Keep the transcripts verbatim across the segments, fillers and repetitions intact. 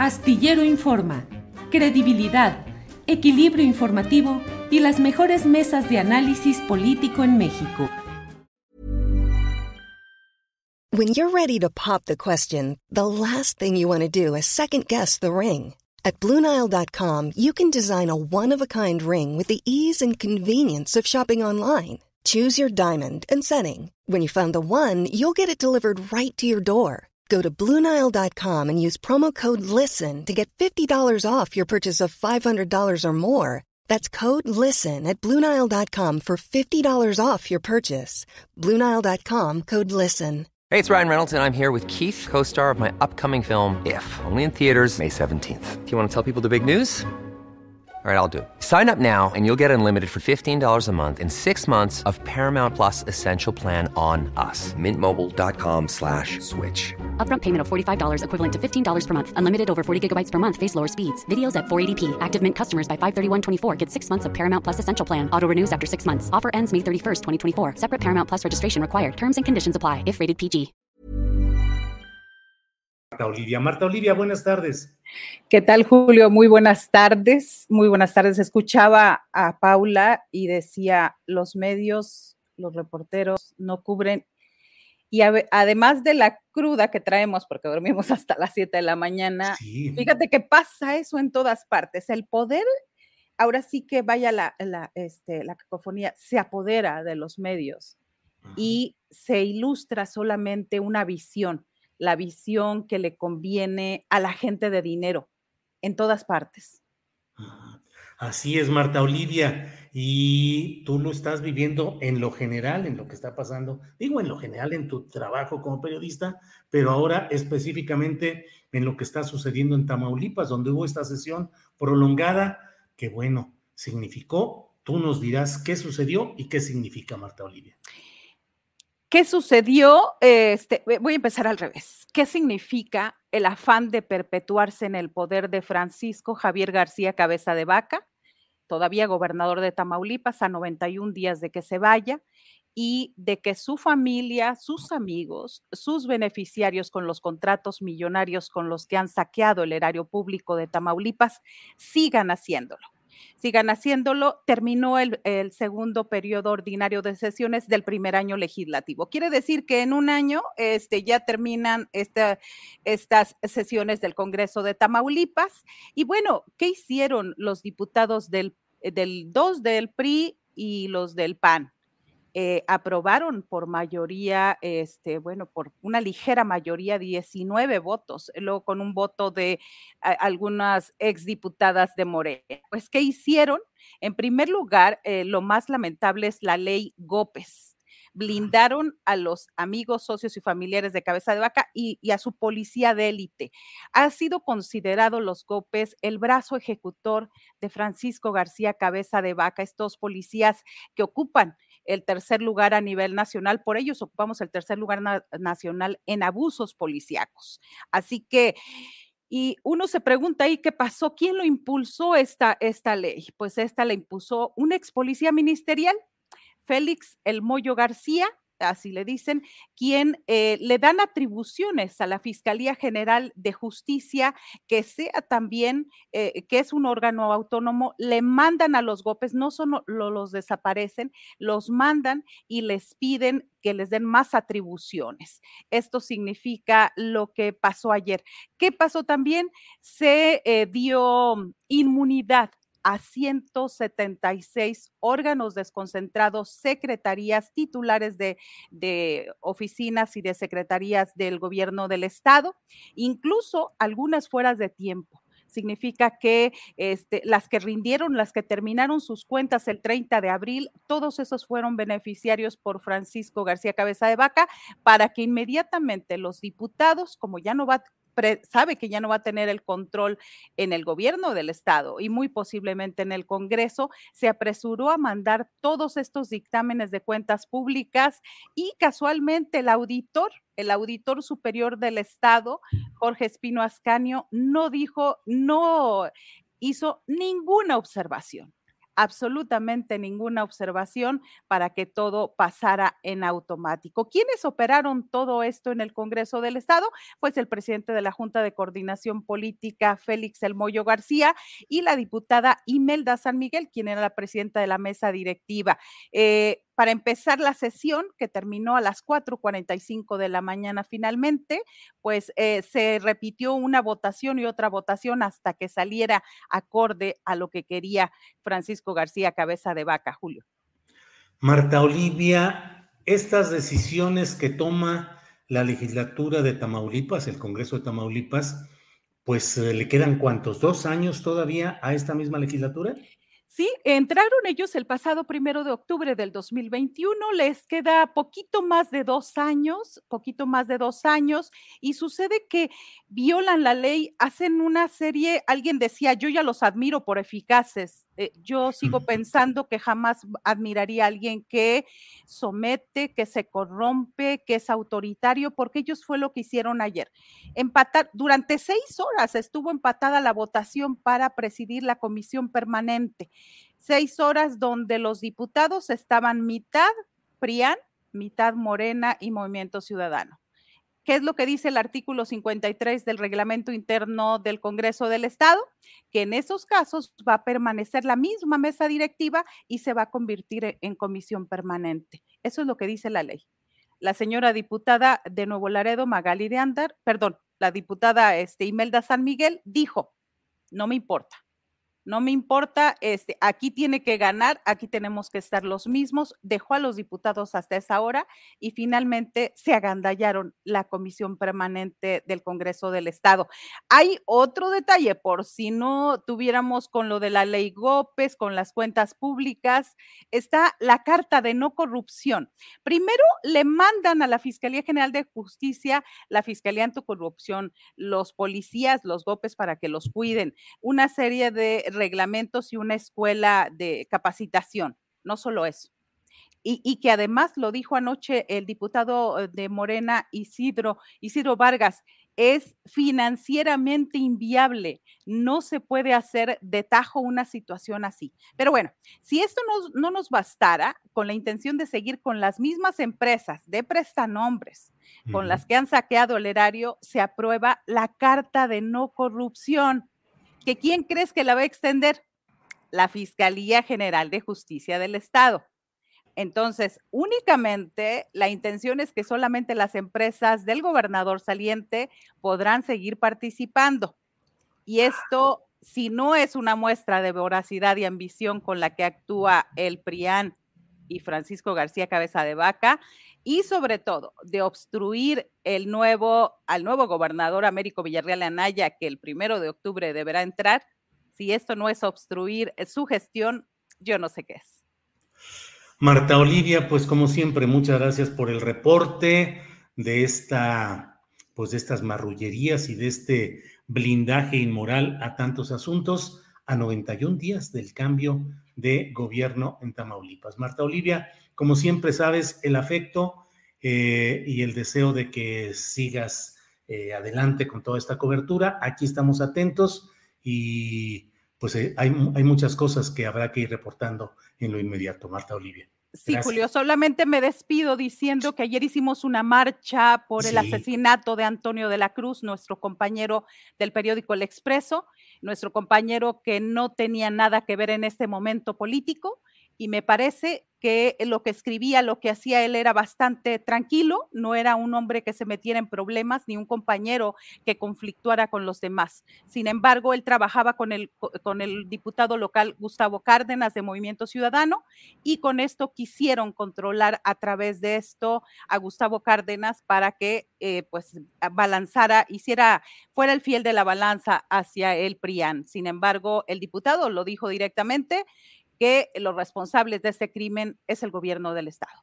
Astillero Informa, credibilidad, equilibrio informativo y las mejores mesas de análisis político en México. When you're ready to pop the question, the last thing you want to do is second-guess the ring. At Blue Nile dot com, you can design a one-of-a-kind ring with the ease and convenience of shopping online. Choose your diamond and setting. When you find the one, you'll get it delivered right to your door. Go to Blue Nile dot com and use promo code LISTEN to get fifty dollars off your purchase of five hundred dollars or more. That's code LISTEN at Blue Nile dot com for fifty dollars off your purchase. Blue Nile dot com, code LISTEN. Hey, it's Ryan Reynolds, and I'm here with Keith, co-star of my upcoming film, If, only in theaters May seventeenth. Do you want to tell people the big news? All right, I'll do it. Sign up now and you'll get unlimited for fifteen dollars a month and six months of Paramount Plus Essential Plan on us. Mint Mobile dot com slash switch. Upfront payment of forty-five dollars equivalent to fifteen dollars per month. Unlimited over forty gigabytes per month. Face lower speeds. Videos at four eighty p. Active Mint customers by five thirty-one twenty-four get six months of Paramount Plus Essential Plan. Auto renews after six months. Offer ends May thirty-first, twenty twenty-four. Separate Paramount Plus registration required. Terms and conditions apply if rated P G. Marta Olivia. Marta Olivia, buenas tardes. ¿Qué tal, Julio? Muy buenas tardes. Muy buenas tardes. Escuchaba a Paula y decía, los medios, los reporteros no cubren. Y a, además de la cruda que traemos, porque dormimos hasta las siete de la mañana, sí. Fíjate que pasa eso en todas partes. El poder, ahora sí que vaya la, la, este, la cacofonía, se apodera de los medios. Ajá. Y se ilustra solamente una visión. La visión que le conviene a la gente de dinero en todas partes. Así es, Marta Olivia, y tú lo estás viviendo en lo general, en lo que está pasando, digo en lo general en tu trabajo como periodista, pero ahora específicamente en lo que está sucediendo en Tamaulipas, donde hubo esta sesión prolongada, que bueno, significó, tú nos dirás qué sucedió y qué significa, Marta Olivia. ¿Qué sucedió? Este, voy a empezar al revés. ¿Qué significa el afán de perpetuarse en el poder de Francisco Javier García Cabeza de Vaca, todavía gobernador de Tamaulipas, a noventa y un días de que se vaya, y de que su familia, sus amigos, sus beneficiarios con los contratos millonarios con los que han saqueado el erario público de Tamaulipas sigan haciéndolo? Sigan haciéndolo, terminó el, el segundo periodo ordinario de sesiones del primer año legislativo. Quiere decir que en un año este, ya terminan esta, estas sesiones del Congreso de Tamaulipas. Y bueno, ¿qué hicieron los diputados del, del dos del P R I y los del P A N? Eh, aprobaron por mayoría, este, bueno, por una ligera mayoría, diecinueve votos, luego con un voto de a, algunas exdiputadas de Morena. Pues, ¿qué hicieron? En primer lugar, eh, lo más lamentable es la ley Gópez. Blindaron a los amigos, socios y familiares de Cabeza de Vaca y, y a su policía de élite. Ha sido considerado los Gópez el brazo ejecutor de Francisco García Cabeza de Vaca, estos policías que ocupan el tercer lugar a nivel nacional, por ellos ocupamos el tercer lugar na- nacional en abusos policíacos. Así que, y uno se pregunta ahí, ¿qué pasó? ¿Quién lo impulsó esta, esta ley? Pues esta la impuso un ex policía ministerial, Félix El Moyo García, así le dicen, quien eh, le dan atribuciones a la Fiscalía General de Justicia, que sea también, eh, que es un órgano autónomo, le mandan a los Gópez, no solo los desaparecen, los mandan y les piden que les den más atribuciones. Esto significa lo que pasó ayer. ¿Qué pasó también? Se eh, dio inmunidad a ciento setenta y seis órganos desconcentrados, secretarías, titulares de, de oficinas y de secretarías del gobierno del estado, incluso algunas fueras de tiempo. Significa que este, las que rindieron, las que terminaron sus cuentas el treinta de abril, todos esos fueron beneficiarios por Francisco García Cabeza de Vaca, para que inmediatamente los diputados, como ya no va a sabe que ya no va a tener el control en el gobierno del estado y muy posiblemente en el Congreso, se apresuró a mandar todos estos dictámenes de cuentas públicas y casualmente el auditor, el auditor superior del estado, Jorge Espino Ascanio, no dijo, no hizo ninguna observación absolutamente ninguna observación para que todo pasara en automático. ¿Quiénes operaron todo esto en el Congreso del Estado? Pues el presidente de la Junta de Coordinación Política, Félix El Moyo García, y la diputada Imelda San Miguel, quien era la presidenta de la mesa directiva. Eh, para empezar la sesión, que terminó a las cuatro cuarenta y cinco de la mañana finalmente, pues eh, se repitió una votación y otra votación hasta que saliera acorde a lo que quería Francisco García Cabeza de Vaca, Julio. Marta Olivia, estas decisiones que toma la legislatura de Tamaulipas, el Congreso de Tamaulipas, pues eh, ¿le quedan cuántos? ¿Dos años todavía a esta misma legislatura? Sí, entraron ellos el pasado primero de octubre del dos mil veintiuno, les queda poquito más de dos años, poquito más de dos años, y sucede que violan la ley, hacen una serie, alguien decía, yo ya los admiro por eficaces, eh, yo sigo pensando que jamás admiraría a alguien que somete, que se corrompe, que es autoritario, porque ellos fue lo que hicieron ayer. Empatar, durante seis horas estuvo empatada la votación para presidir la comisión permanente. Seis horas donde los diputados estaban mitad P R I A N, mitad Morena y Movimiento Ciudadano. ¿Qué es lo que dice el artículo cincuenta y tres del reglamento interno del Congreso del Estado? Que en esos casos va a permanecer la misma mesa directiva y se va a convertir en comisión permanente. Eso es lo que dice la ley. La señora diputada de Nuevo Laredo, Magali de Andar, perdón, la diputada este, Imelda San Miguel, dijo, no me importa. No me importa, este, aquí tiene que ganar, aquí tenemos que estar los mismos, dejó a los diputados hasta esa hora y finalmente se agandallaron la comisión permanente del Congreso del Estado. Hay otro detalle, por si no tuviéramos con lo de la ley Gópez, con las cuentas públicas, está la carta de no corrupción. Primero le mandan a la Fiscalía General de Justicia, la Fiscalía Anticorrupción, los policías, los Gópez para que los cuiden, una serie de reglamentos y una escuela de capacitación, no solo eso. Y, y que además lo dijo anoche el diputado de Morena, Isidro, Isidro Vargas, es financieramente inviable, no se puede hacer de tajo una situación así. Pero bueno, si esto no, no nos bastara, con la intención de seguir con las mismas empresas de prestanombres, uh-huh. con las que han saqueado el erario, se aprueba la Carta de No Corrupción. ¿Que quién crees que la va a extender? La Fiscalía General de Justicia del Estado. Entonces, únicamente la intención es que solamente las empresas del gobernador saliente podrán seguir participando. Y esto, si no es una muestra de voracidad y ambición con la que actúa el P R I A N y Francisco García Cabeza de Vaca, y sobre todo de obstruir el nuevo, al nuevo gobernador Américo Villarreal Anaya, que el primero de octubre deberá entrar, si esto no es obstruir su gestión, yo no sé qué es. Marta Olivia, pues como siempre, muchas gracias por el reporte de esta, pues de estas marrullerías y de este blindaje inmoral a tantos asuntos a noventa y un días del cambio de gobierno en Tamaulipas. Marta Olivia, como siempre sabes, el afecto eh, y el deseo de que sigas eh, adelante con toda esta cobertura. Aquí estamos atentos y pues eh, hay, hay muchas cosas que habrá que ir reportando en lo inmediato. Marta Olivia. Sí, Gracias. Julio, solamente me despido diciendo que ayer hicimos una marcha por el sí. asesinato de Antonio de la Cruz, nuestro compañero del periódico El Expreso, nuestro compañero que no tenía nada que ver en este momento político, y me parece que lo que escribía, lo que hacía él era bastante tranquilo, no era un hombre que se metiera en problemas, ni un compañero que conflictuara con los demás. Sin embargo, él trabajaba con el, con el diputado local Gustavo Cárdenas de Movimiento Ciudadano, y con esto quisieron controlar a través de esto a Gustavo Cárdenas para que eh, pues balanzara, hiciera, fuera el fiel de la balanza hacia el P R I A N. Sin embargo, el diputado lo dijo directamente, que los responsables de este crimen es el gobierno del estado.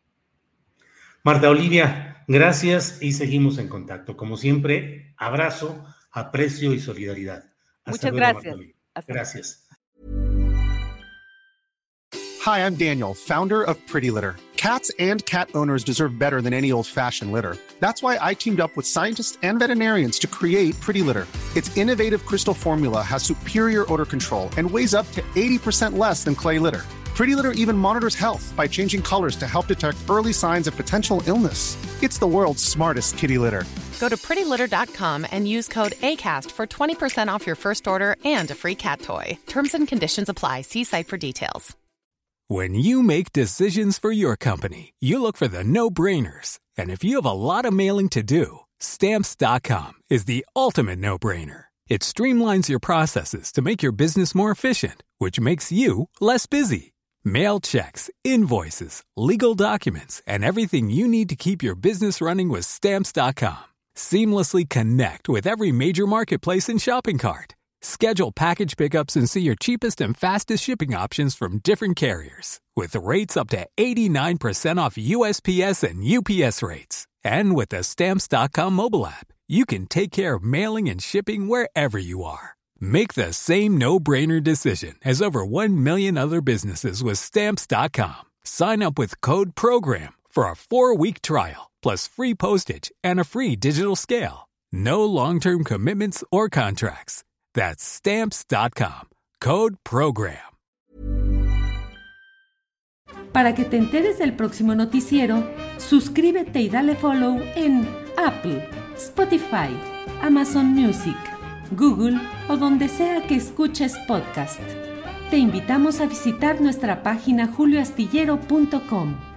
Marta Olivia, gracias y seguimos en contacto. Como siempre, abrazo, aprecio y solidaridad. Hasta Muchas luego, gracias. Hasta gracias. Hi, I'm Daniel, founder of Pretty Litter. Cats and cat owners deserve better than any old-fashioned litter. That's why I teamed up with scientists and veterinarians to create Pretty Litter. Its innovative crystal formula has superior odor control and weighs up to eighty percent less than clay litter. Pretty Litter even monitors health by changing colors to help detect early signs of potential illness. It's the world's smartest kitty litter. Go to pretty litter dot com and use code ACAST for twenty percent off your first order and a free cat toy. Terms and conditions apply. See site for details. When you make decisions for your company, you look for the no-brainers. And if you have a lot of mailing to do, Stamps dot com is the ultimate no-brainer. It streamlines your processes to make your business more efficient, which makes you less busy. Mail checks, invoices, legal documents, and everything you need to keep your business running with Stamps dot com. Seamlessly connect with every major marketplace and shopping cart. Schedule package pickups and see your cheapest and fastest shipping options from different carriers. With rates up to eighty-nine percent off U S P S and U P S rates. And with the Stamps dot com mobile app, you can take care of mailing and shipping wherever you are. Make the same no-brainer decision as over one million other businesses with Stamps dot com. Sign up with code PROGRAM for a four-week trial, plus free postage and a free digital scale. No long-term commitments or contracts. That's Stamps dot com. Code PROGRAM. Para que te enteres del próximo noticiero, suscríbete y dale follow en Apple, Spotify, Amazon Music, Google o donde sea que escuches podcast. Te invitamos a visitar nuestra página julio astillero punto com.